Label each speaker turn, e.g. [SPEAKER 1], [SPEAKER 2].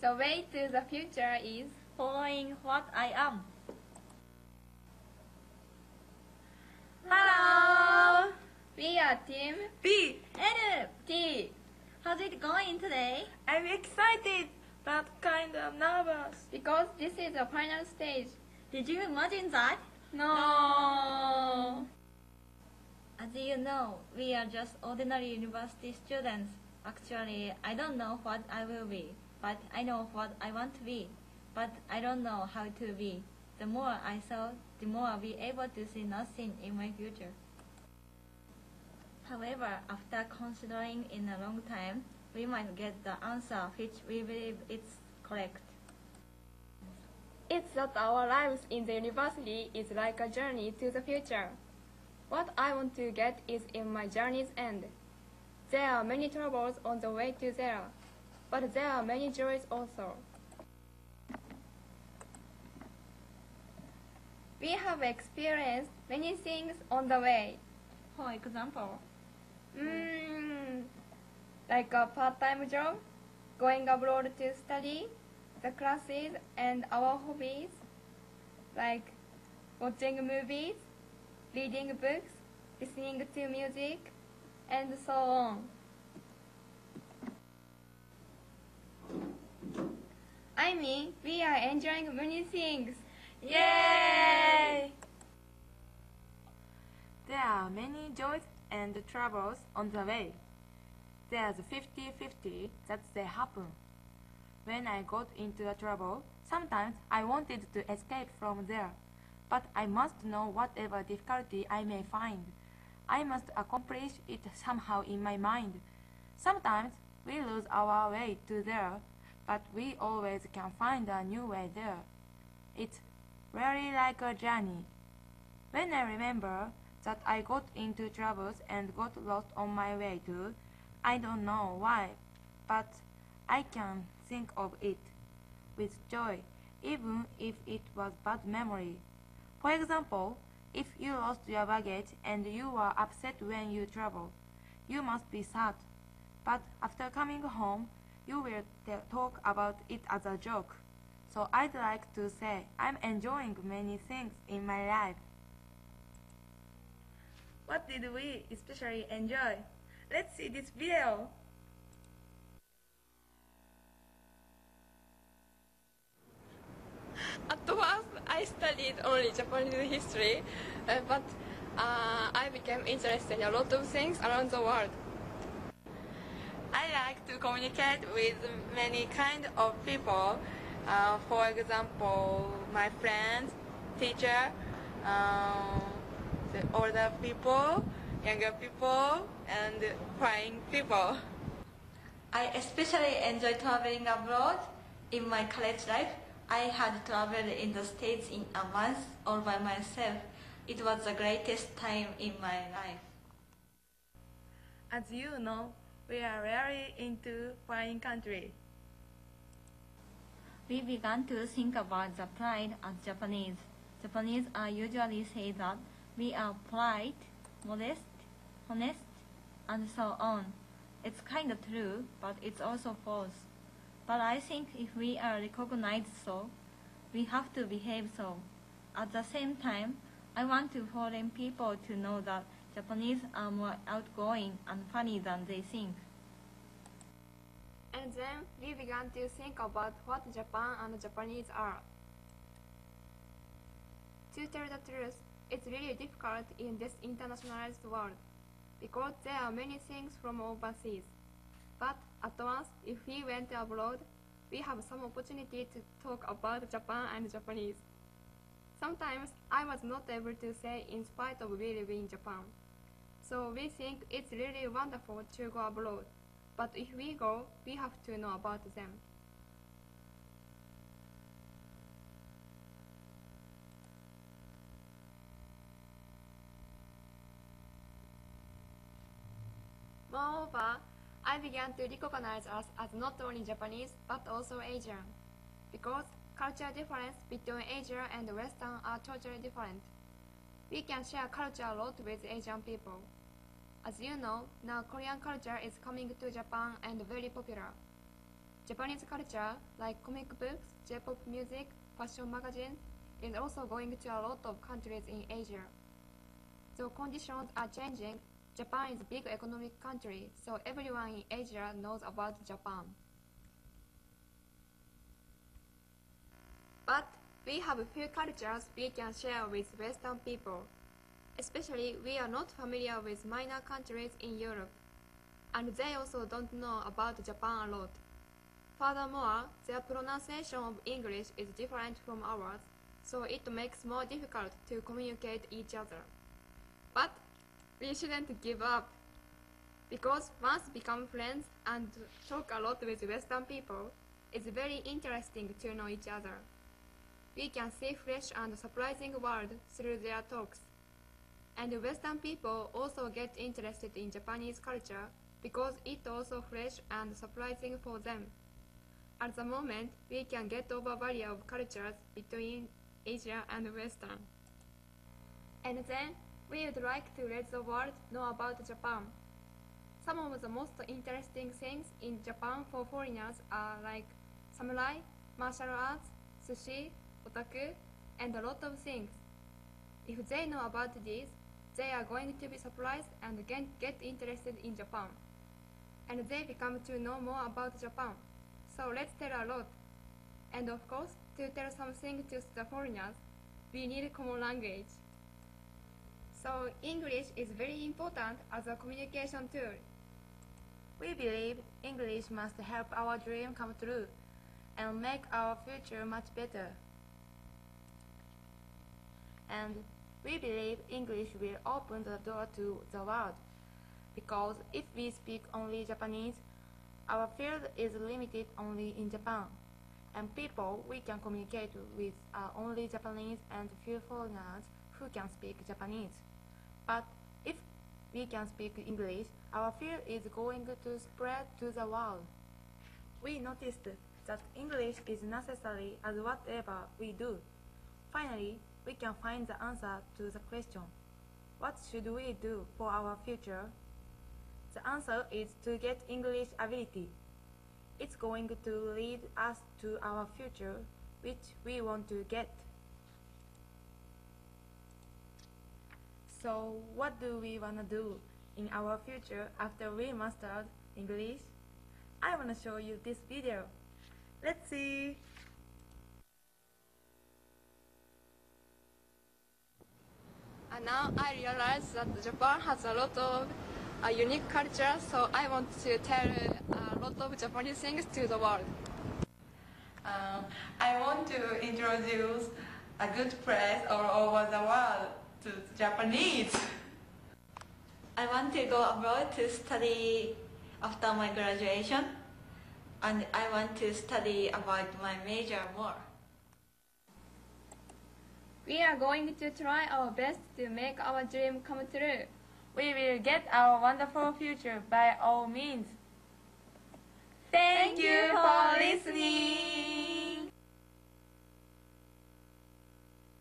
[SPEAKER 1] The way to the future is
[SPEAKER 2] following what I am.
[SPEAKER 1] Hello! We are Team
[SPEAKER 3] B.
[SPEAKER 2] Ed,
[SPEAKER 1] T
[SPEAKER 2] how's it going today?
[SPEAKER 3] I'm excited, but kind of nervous.
[SPEAKER 1] because this is the final stage.
[SPEAKER 2] Did you imagine that?
[SPEAKER 1] No!
[SPEAKER 2] As you know, we are just ordinary university students. Actually, I don't know what I will be, but I know what I want to be. But I don't know how to be. The more I saw, the more I'll be able to see nothing in my future. However, after considering in a long time, we might get the answer which we believe is correct.
[SPEAKER 1] It's that our lives in the university is like a journey to the future. What I want to get is in my journey's end. There are many troubles on the way to there, but there are many joys also. We have experienced many things on the way.
[SPEAKER 2] For example,
[SPEAKER 1] Like a part-time job, going abroad to study, the classes and our hobbies, like watching movies, reading books, listening to music, and so on. I mean, we are enjoying many things.
[SPEAKER 3] Yay! There are many joys and troubles on the way. There's 50-50 that they happen. When I got into a trouble, sometimes I wanted to escape from there. But I must know whatever difficulty I may find. I must accomplish it somehow in my mind. Sometimes we lose our way to there, but we always can find a new way there. It's really like a journey. When I remember that I got into troubles and got lost on my way to, I don't know why, but I can think of it with joy, even if it was bad memory. For example, if you lost your baggage and you were upset when you traveled, you must be sad. But after coming home, you will talk about it as a joke. So I'd like to say I'm enjoying many things in my life. What did we especially enjoy? Let's see this video.
[SPEAKER 1] At first, I studied only Japanese history, but I became interested in a lot of things around the world.
[SPEAKER 3] I like to communicate with many kind of people. For example, my friends, teacher, the older people, younger people, and foreign people.
[SPEAKER 2] I especially enjoy traveling abroad. In my college life, I had traveled in the States in a month all by myself. It was the greatest time in my life.
[SPEAKER 3] As you know, we are really into foreign country.
[SPEAKER 2] We began to think about the pride as Japanese. Japanese are usually say that we are polite, modest, honest, and so on. It's kind of true, but it's also false. But I think if we are recognized so, we have to behave so. At the same time, I want to foreign people to know that Japanese are more outgoing and funny than they think.
[SPEAKER 1] And then we began to think about what Japan and Japanese are. To tell the truth, it's really difficult in this internationalized world, because there are many things from overseas. But at once, if we went abroad, we have some opportunity to talk about Japan and Japanese. Sometimes I was not able to say in spite of we live in Japan. So we think it's really wonderful to go abroad. But if we go, we have to know about them. Moreover, I began to recognize us as not only Japanese but also Asian, because culture difference between Asia and Western are totally different. We can share culture a lot with Asian people. As you know, now Korean culture is coming to Japan and very popular. Japanese culture, like comic books, J-pop music, fashion magazine, is also going to a lot of countries in Asia. Though conditions are changing, Japan is a big economic country, so everyone in Asia knows about Japan. But we have few cultures we can share with Western people. Especially, we are not familiar with minor countries in Europe, and they also don't know about Japan a lot. Furthermore, their pronunciation of English is different from ours, so it makes more difficult to communicate each other. But we shouldn't give up, because once become friends and talk a lot with Western people, it's very interesting to know each other. We can see fresh and surprising world through their talks. And Western people also get interested in Japanese culture because it's also fresh and surprising for them. At the moment, we can get over barrier of cultures between Asia and Western. And then, we would like to let the world know about Japan. Some of the most interesting things in Japan for foreigners are like samurai, martial arts, sushi, otaku, and a lot of things. If they know about these, they are going to be surprised and get interested in Japan. And they become to know more about Japan. So let's tell a lot. And of course, to tell something to the foreigners, we need common language. So English is very important as a communication tool.
[SPEAKER 3] We believe English must help our dream come true and make our future much better. And we believe English will open the door to the world, because if we speak only Japanese, our field is limited only in Japan, and people we can communicate with are only Japanese and few foreigners who can speak Japanese. But if we can speak English, our field is going to spread to the world. We noticed that English is necessary as whatever we do. Finally, we can find the answer to the question, what should we do for our future? The answer is to get English ability. It's going to lead us to our future, which we want to get. So, what do we want to do in our future after we mastered English? I want to show you this video. Let's see!
[SPEAKER 1] And now I realize that Japan has a lot of unique culture, so I want to tell a lot of Japanese things to the world.
[SPEAKER 3] I want to introduce a good place all over the world to Japanese.
[SPEAKER 2] I want to go abroad to study after my graduation, and I want to study about my major more.
[SPEAKER 1] We are going to try our best to make our dream come true.
[SPEAKER 3] We will get our wonderful future by all means. Thank you for listening.